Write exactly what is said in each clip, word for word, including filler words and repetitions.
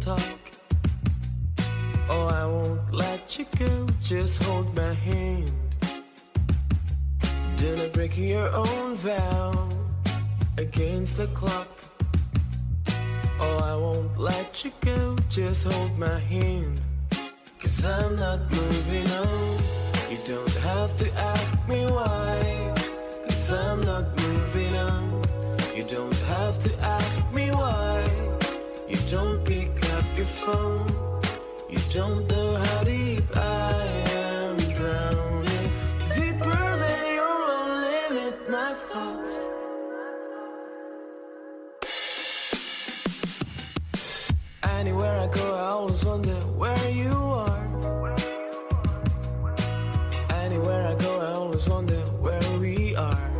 talk. Oh, I won't let you go, just hold my hand. Do not break your own vow against the clock. Oh, I won't let you go, just hold my hand. Cause I'm not moving on. You don't have to ask me why. Cause I'm not moving on. You don't have to ask me why. You don't pick up your phone. You don't know how deep I am drowning. Deeper than your lonely midnight thoughts. Anywhere I go, I always wonder where you are. Anywhere I go, I always wonder where we are.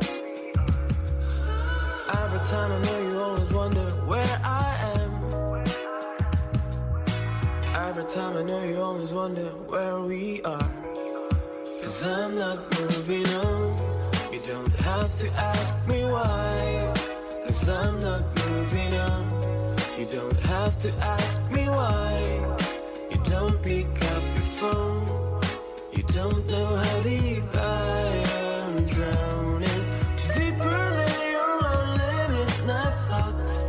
Every time I know you always wonder where I am. Every time I know you always wonder where we are. Cause I'm not moving on. You don't have to ask me why. Cause I'm not moving on. You don't have to ask me why. You don't pick up your phone. You don't know how deep I am drowning. Deeper than your lonely midnight thoughts.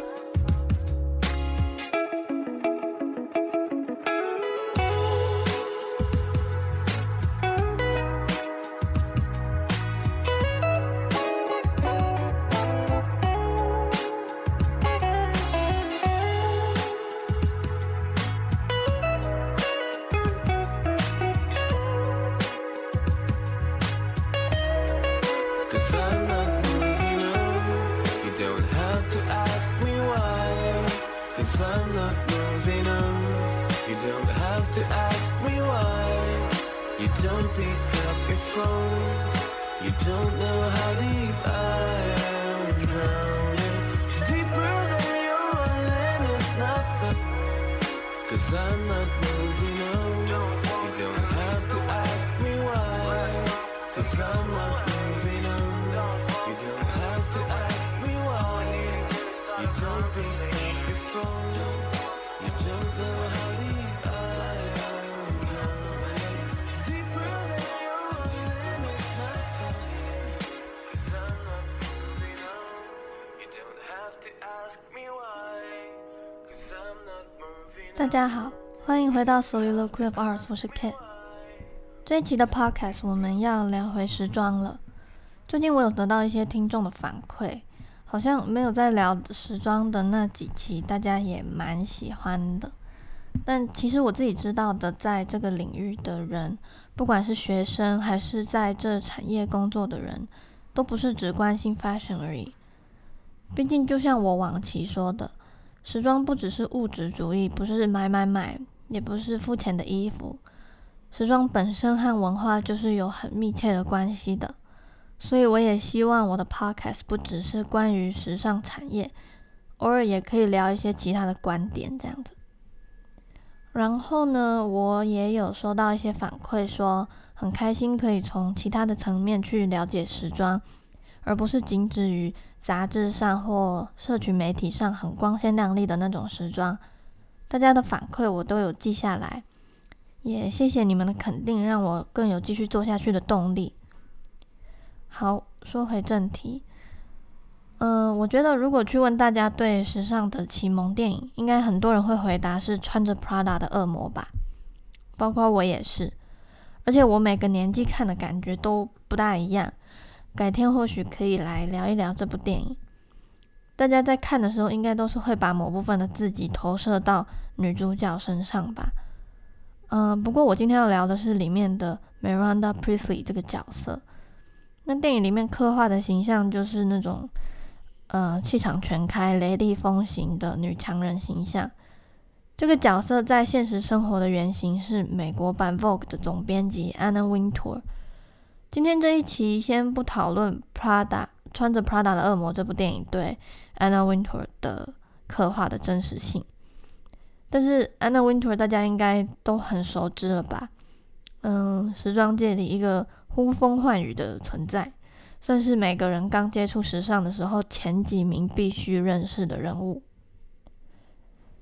Cause I'm not moving on. You don't have to ask me why. Cause I'm not moving on. You don't have to ask me why. You don't pick up your phone. You don't know how deep I am drowning. Deeper than your lonely midnight thoughts. Cause I'm not moving on. You don't have to ask me why. Cause I'm not moving on. You don't have to ask me why. You don't pick up your phone. You don't know how deep I am drowning. Deeper than your lonely midnight thoughts. Cause I'm not moving on. You don't have to ask me why. Cause I'm not moving on. 大家好，欢迎回到 Soliloquy of Ours， 我是 Kate。这一期的 podcast 我们要聊回时装了。最近我有得到一些听众的反馈，好像没有在聊时装的那几期大家也蛮喜欢的。但其实我自己知道的，在这个领域的人，不管是学生还是在这产业工作的人，都不是只关心 fashion 而已。毕竟就像我往期说的，时装不只是物质主义，不是买买买，也不是肤浅的衣服。时装本身和文化就是有很密切的关系的，所以我也希望我的 podcast 不只是关于时尚产业，偶尔也可以聊一些其他的观点这样子。然后呢，我也有收到一些反馈说，很开心可以从其他的层面去了解时装，而不是仅止于杂志上或社群媒体上很光鲜亮丽的那种时装。大家的反馈我都有记下来，也谢谢你们的肯定，让我更有继续做下去的动力。好，说回正题，嗯，我觉得如果去问大家对时尚的启蒙电影，应该很多人会回答是穿着 Prada 的恶魔吧，包括我也是。而且我每个年纪看的感觉都不大一样，改天或许可以来聊一聊这部电影。大家在看的时候，应该都是会把某部分的自己投射到女主角身上吧。嗯，不过我今天要聊的是里面的 Miranda Priestly 这个角色。那电影里面刻画的形象就是那种呃气场全开、雷厉风行的女强人形象。这个角色在现实生活的原型是美国版 Vogue 的总编辑 Anna Wintour。今天这一期先不讨论 Prada 穿着 Prada 的恶魔这部电影对 Anna Wintour 的刻画的真实性，但是 Anna Wintour 大家应该都很熟知了吧？嗯，时装界里一个呼风唤雨的存在，算是每个人刚接触时尚的时候前几名必须认识的人物。那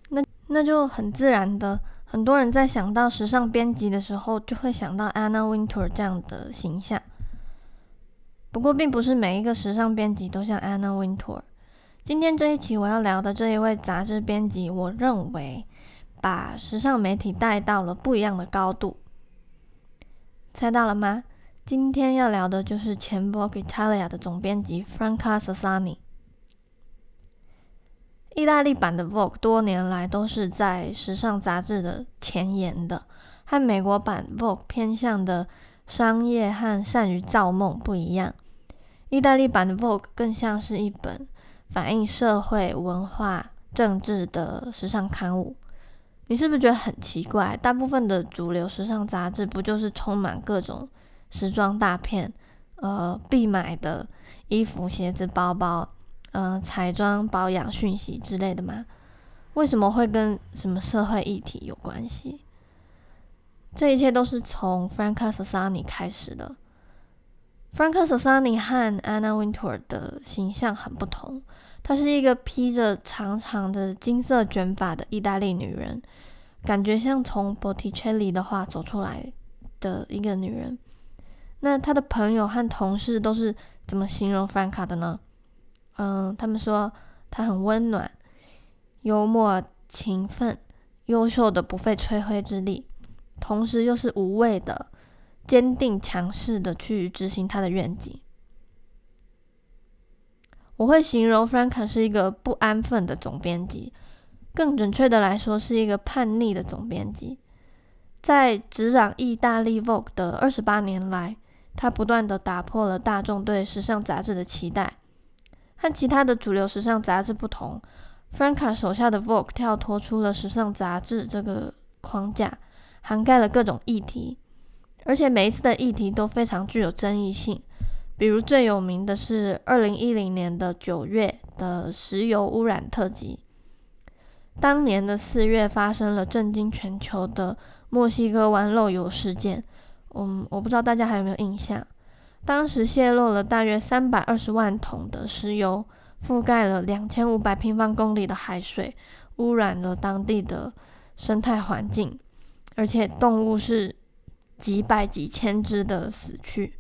那就很自然的，很多人在想到时尚编辑的时候，就会想到 Anna Wintour 这样的形象。不过并不是每一个时尚编辑都像 Anna Wintour。今天这一期我要聊的这一位杂志编辑，我认为把时尚媒体带到了不一样的高度。猜到了吗？今天要聊的就是前 Vogue Italia 的总编辑 Franca Sozzani。意大利版的 Vogue 多年来都是在时尚杂志的前沿的，和美国版 Vogue 偏向的商业和善于造梦不一样。意大利版的 Vogue 更像是一本反映社会、文化、政治的时尚刊物。你是不是觉得很奇怪？大部分的主流时尚杂志不就是充满各种时装大片、呃必买的衣服、鞋子、包包、呃彩妆、保养、讯息之类的吗？为什么会跟什么社会议题有关系？这一切都是从 Franca Sozzani 开始的。Franca Sozzani 和 Anna Wintour 的形象很不同，她是一个披着长长的金色卷发的意大利女人，感觉像从 Botticelli 的画走出来的一个女人。那她的朋友和同事都是怎么形容 Franca 的呢？嗯，他们说她很温暖、幽默、勤奋、优秀的不费吹灰之力，同时又是无畏的、坚定强势的去执行他的愿景。我会形容 Franca 是一个不安分的总编辑，更准确的来说是一个叛逆的总编辑。在执掌意大利 Vogue 的二十八年来，他不断的打破了大众对时尚杂志的期待。和其他的主流时尚杂志不同， Franca 手下的 Vogue 跳脱出了时尚杂志这个框架，涵盖了各种议题，而且每一次的议题都非常具有争议性。比如最有名的是二零一零年的九月的石油污染特辑。当年的四月发生了震惊全球的墨西哥湾漏油事件，嗯，我不知道大家还有没有印象。当时泄露了大约三百二十万桶的石油，覆盖了两千五百平方公里的海水，污染了当地的生态环境，而且动物是几百几千只的死去。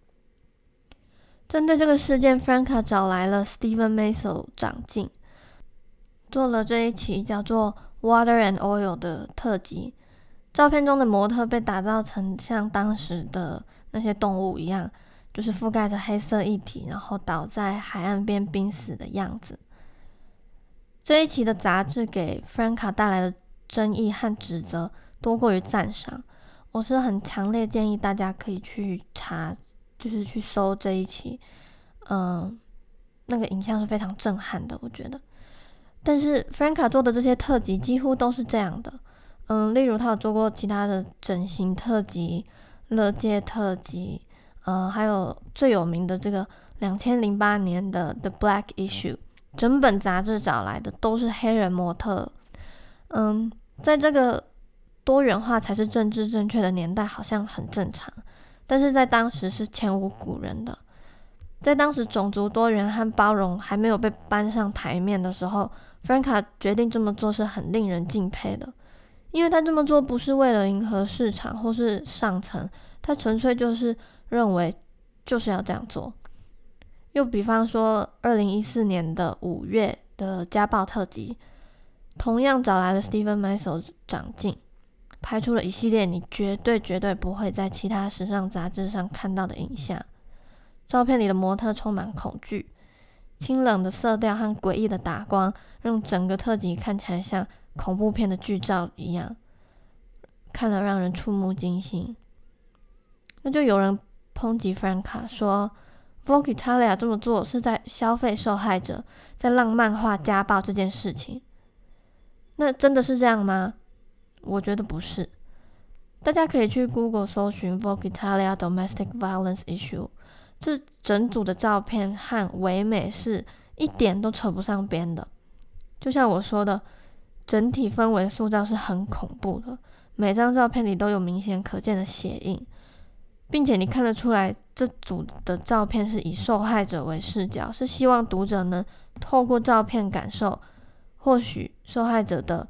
针对这个事件， Franca 找来了 Steven Meisel 长进，做了这一期叫做 Water and Oil 的特辑。照片中的模特被打造成像当时的那些动物一样，就是覆盖着黑色液体，然后倒在海岸边濒死的样子。这一期的杂志给 Franca 带来的争议和指责多过于赞赏，我是很强烈建议大家可以去查，就是去搜这一期，嗯，那个影像是非常震撼的，我觉得。但是 Franca 做的这些特辑几乎都是这样的，嗯，例如他有做过其他的整形特辑、乐界特辑，嗯，还有最有名的这个二零零八年的 The Black Issue， 整本杂志找来的都是黑人模特。嗯，在这个多元化才是政治正确的年代，好像很正常，但是在当时是前无古人的。在当时种族多元和包容还没有被搬上台面的时候， Franca 决定这么做是很令人敬佩的，因为他这么做不是为了迎合市场或是上层，他纯粹就是认为就是要这样做。又比方说二零一四年的五月的家暴特辑，同样找来了 Steven Meisel 长进，拍出了一系列你绝对绝对不会在其他时尚杂志上看到的影像。照片里的模特充满恐惧，清冷的色调和诡异的打光让整个特辑看起来像恐怖片的剧照一样，看了让人触目惊心。那就有人抨击 Franca 说 Vogue Italia 这么做是在消费受害者，在浪漫化家暴这件事情。那真的是这样吗？我觉得不是。大家可以去 Google 搜寻 Vogue Italia Domestic Violence Issue， 这整组的照片和唯美是一点都扯不上边的。就像我说的，整体氛围塑造是很恐怖的，每张照片里都有明显可见的血印，并且你看得出来这组的照片是以受害者为视角，是希望读者能透过照片感受或许受害者的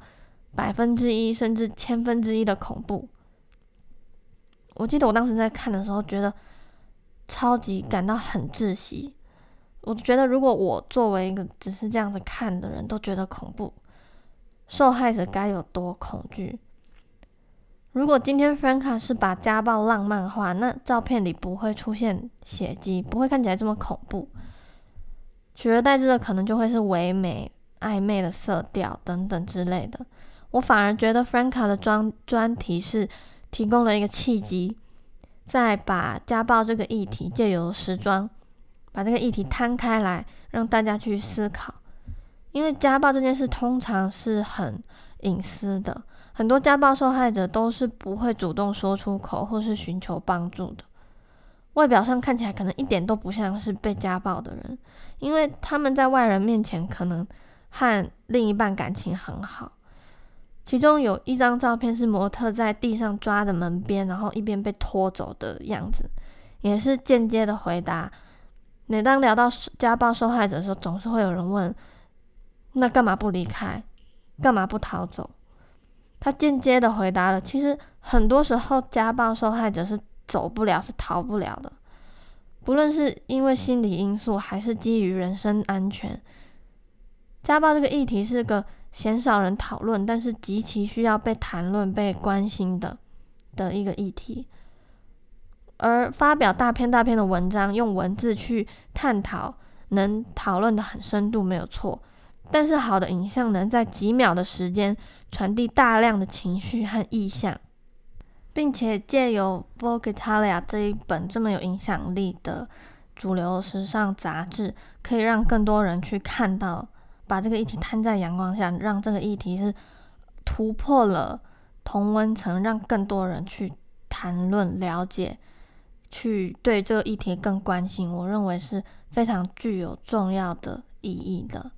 百分之一甚至千分之一的恐怖。我记得我当时在看的时候，觉得超级感到很窒息。我觉得如果我作为一个只是这样子看的人都觉得恐怖，受害者该有多恐惧。如果今天 Franca 是把家暴浪漫化，那照片里不会出现血迹，不会看起来这么恐怖，取而代之的可能就会是唯美暧昧的色调等等之类的。我反而觉得 Franca 的专专题是提供了一个契机，再把家暴这个议题借由时装把这个议题摊开来，让大家去思考。因为家暴这件事通常是很隐私的，很多家暴受害者都是不会主动说出口或是寻求帮助的，外表上看起来可能一点都不像是被家暴的人，因为他们在外人面前可能和另一半感情很好。其中有一张照片是模特在地上抓着门边，然后一边被拖走的样子，也是间接的回答。每当聊到家暴受害者的时候，总是会有人问，那干嘛不离开？干嘛不逃走？他间接的回答了，其实很多时候家暴受害者是走不了，是逃不了的，不论是因为心理因素还是基于人身安全。家暴这个议题是个鲜少人讨论，但是极其需要被谈论、被关心的的一个议题。而发表大篇大篇的文章，用文字去探讨，能讨论的很深度没有错，但是好的影像能在几秒的时间传递大量的情绪和意象，并且借由 Vogue Italia 这一本这么有影响力的主流时尚杂志，可以让更多人去看到，把这个议题摊在阳光下，让这个议题是突破了同温层，让更多人去谈论、了解，去对这个议题更关心，我认为是非常具有重要的意义的。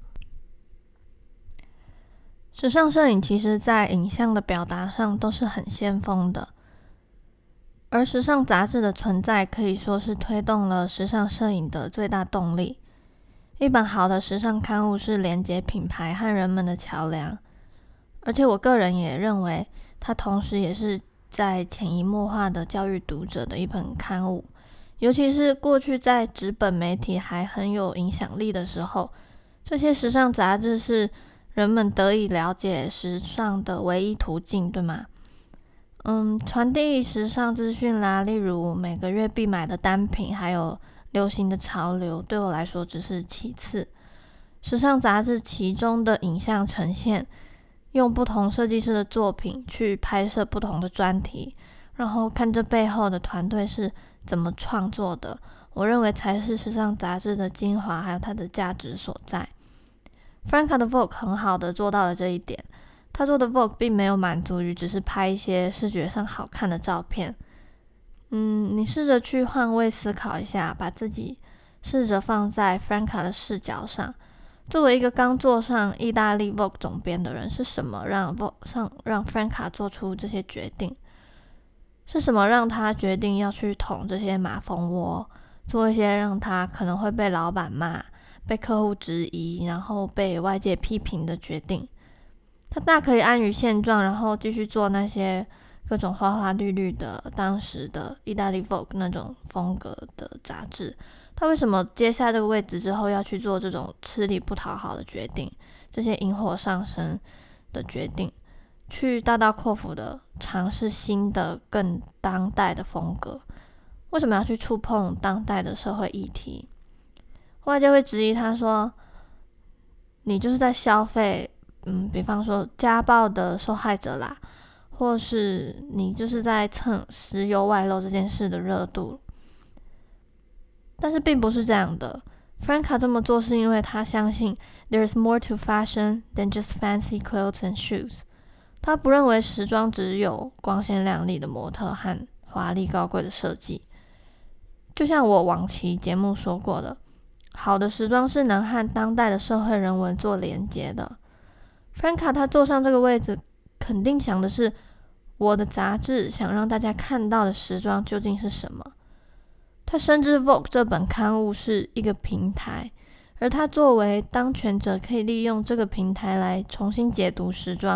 时尚摄影其实在影像的表达上都是很先锋的，而时尚杂志的存在可以说是推动了时尚摄影的最大动力。一本好的时尚刊物是连接品牌和人们的桥梁，而且我个人也认为它同时也是在潜移默化的教育读者的一本刊物。尤其是过去在纸本媒体还很有影响力的时候，这些时尚杂志是人们得以了解时尚的唯一途径，对吗？嗯，传递时尚资讯啦，例如每个月必买的单品，还有流行的潮流，对我来说只是其次。时尚杂志其中的影像呈现，用不同设计师的作品去拍摄不同的专题，然后看这背后的团队是怎么创作的，我认为才是时尚杂志的精华，还有它的价值所在。Franca 的 Vogue 很好的做到了这一点，他做的 Vogue 并没有满足于只是拍一些视觉上好看的照片。嗯，你试着去换位思考一下，把自己试着放在 Franca 的视角上。作为一个刚做上意大利 Vogue 总编的人，是什么让 Vogue 上让 Franca 做出这些决定？是什么让他决定要去捅这些马蜂窝，做一些让他可能会被老板骂、被客户质疑，然后被外界批评的决定？他大可以安于现状，然后继续做那些各种花花绿绿的当时的意大利 Vogue 那种风格的杂志。他为什么接下这个位置之后要去做这种吃力不讨好的决定，这些引火上身的决定，去大刀阔斧的尝试新的更当代的风格？为什么要去触碰当代的社会议题？外界会质疑他说，你就是在消费嗯，比方说家暴的受害者啦，或是你就是在蹭石油外漏这件事的热度。但是并不是这样的。Franca 这么做是因为他相信 There's more to fashion than just fancy clothes and shoes。 他不认为时装只有光鲜亮丽的模特和华丽高贵的设计。就像我往期节目说过的，好的时装是能和当代的社会人文做连结的。Franca 他坐上这个位置，肯定想的是，我的杂志想让大家看到的时装究竟是什么。他深知 Vogue 这本刊物是一个平台，而他作为当权者，可以利用这个平台来重新解读时装，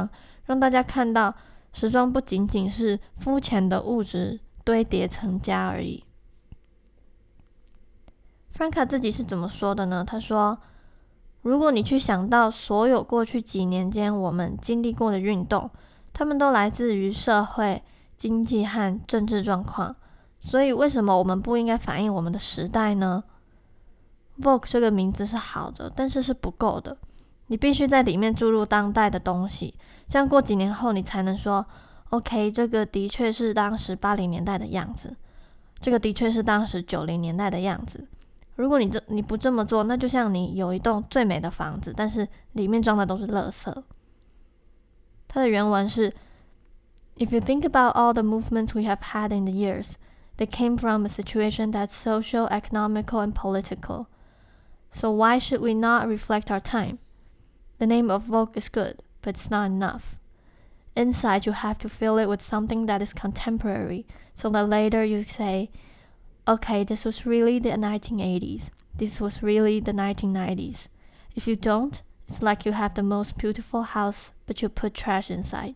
让大家看到时装不仅仅是肤浅的物质堆叠成家而已。Franca 自己是怎么说的呢？他说，如果你去想到所有过去几年间我们经历过的运动，他们都来自于社会、经济和政治状况，所以为什么我们不应该反映我们的时代呢？ Vogue 这个名字是好的，但是是不够的，你必须在里面注入当代的东西，这样过几年后你才能说 OK， 这个的确是当时八零年代的样子，这个的确是当时九零年代的样子。如果你这你不这么做，那就像你有一栋最美的房子，但是里面装的都是垃圾。它的原文是 If you think about all the movements we have had in the years, they came from a situation that's social, economical, and political. So why should we not reflect our time? The name of Vogue is good, but it's not enough. Inside, you have to fill it with something that is contemporary, so that later you say, okay, this was really the nineteen eighties. This was really the nineteen nineties. If you don't, it's like you have the most beautiful house, but you put trash inside.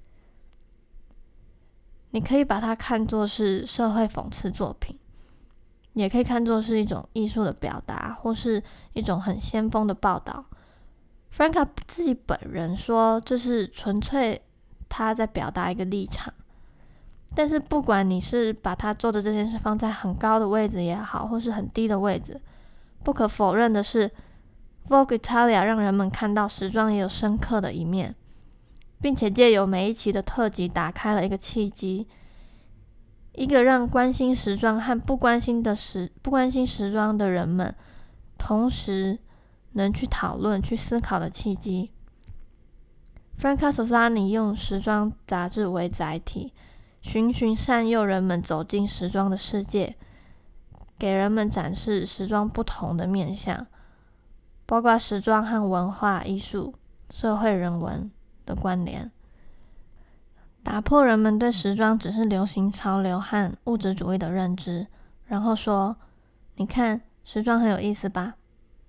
你可以把它看作是社会讽刺作品，也可以看作是一种艺术的表达，或是一种很先锋的报道。Franca 自己本人说，这是纯粹他在表达一个立场。但是不管你是把他做的这件事放在很高的位置也好，或是很低的位置，不可否认的是 Vogue Italia 让人们看到时装也有深刻的一面，并且借由每一期的特辑打开了一个契机，一个让关心时装和不关心的时不关心时装的人们同时能去讨论、去思考的契机。Franca Sozzani 用时装杂志为载体，循循善诱人们走进时装的世界，给人们展示时装不同的面向，包括时装和文化艺术、社会人文的关联，打破人们对时装只是流行潮流和物质主义的认知，然后说，你看，时装很有意思吧。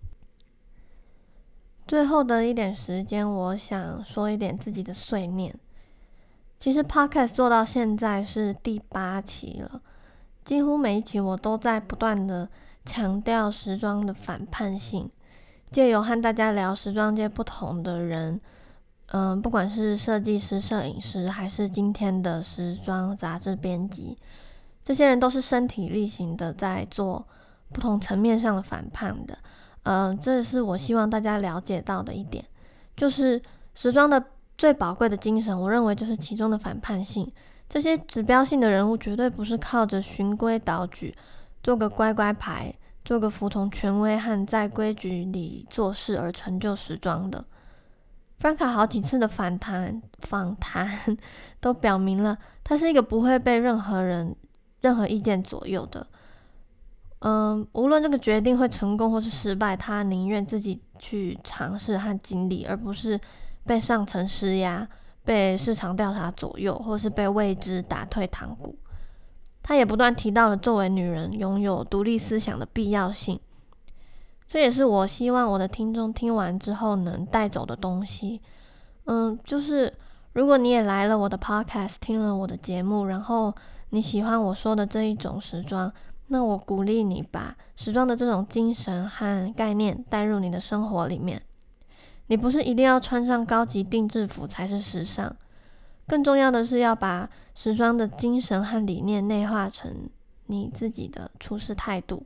最后的一点时间，我想说一点自己的碎念。其实 Podcast 做到现在是第八期了，几乎每一期我都在不断的强调时装的反叛性，借由和大家聊时装界不同的人，嗯，不管是设计师、摄影师，还是今天的时装杂志编辑，这些人都是身体力行的在做不同层面上的反叛的。嗯，这是我希望大家了解到的一点，就是时装的最宝贵的精神，我认为就是其中的反叛性。这些指标性的人物绝对不是靠着循规蹈矩，做个乖乖牌，做个服从权威和在规矩里做事而成就时装的。Franca 好几次的反弹访谈都表明了，他是一个不会被任何人、任何意见左右的。嗯，无论这个决定会成功或是失败，他宁愿自己去尝试和经历，而不是被上层施压、被市场调查左右，或是被未知打退堂鼓。他也不断提到了作为女人拥有独立思想的必要性，这也是我希望我的听众听完之后能带走的东西。嗯，就是如果你也来了我的 podcast， 听了我的节目，然后你喜欢我说的这一种时装，那我鼓励你把时装的这种精神和概念带入你的生活里面。你不是一定要穿上高级定制服才是时尚，更重要的是要把时装的精神和理念内化成你自己的处事态度。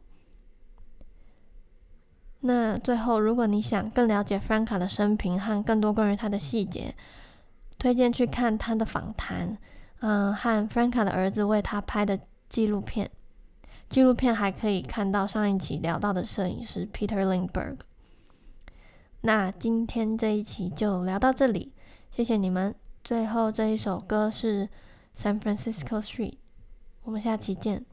那最后，如果你想更了解 Franca 的生平和更多关于她的细节，推荐去看她的访谈，嗯，和 Franca 的儿子为她拍的纪录片。纪录片还可以看到上一期聊到的摄影师 Peter Lindbergh。那今天这一期就聊到这里，谢谢你们。最后这一首歌是 San Francisco Street， 我们下期见。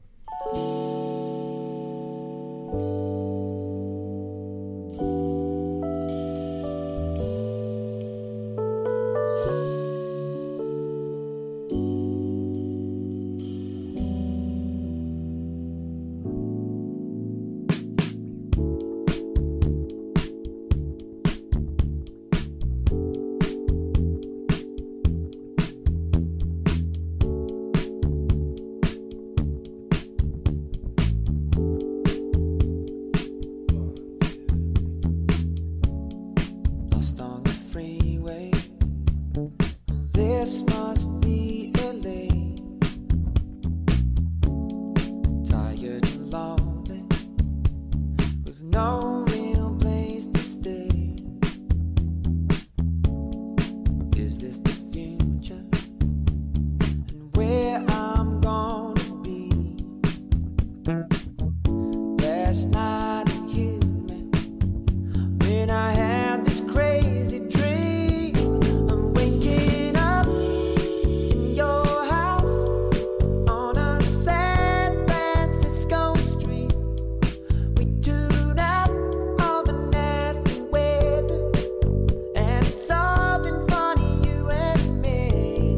I had this crazy dream of waking up in your house on a San Francisco street. We tune out all the nasty weather, and it's something funny, you and me.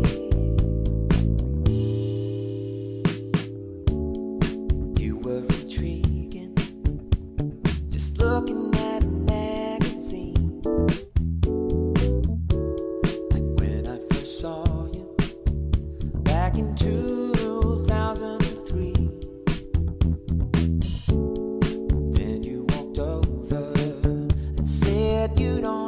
You were intriguing, just looking at a magazine, like when I first saw you back in two thousand three. Then you walked over and said you don't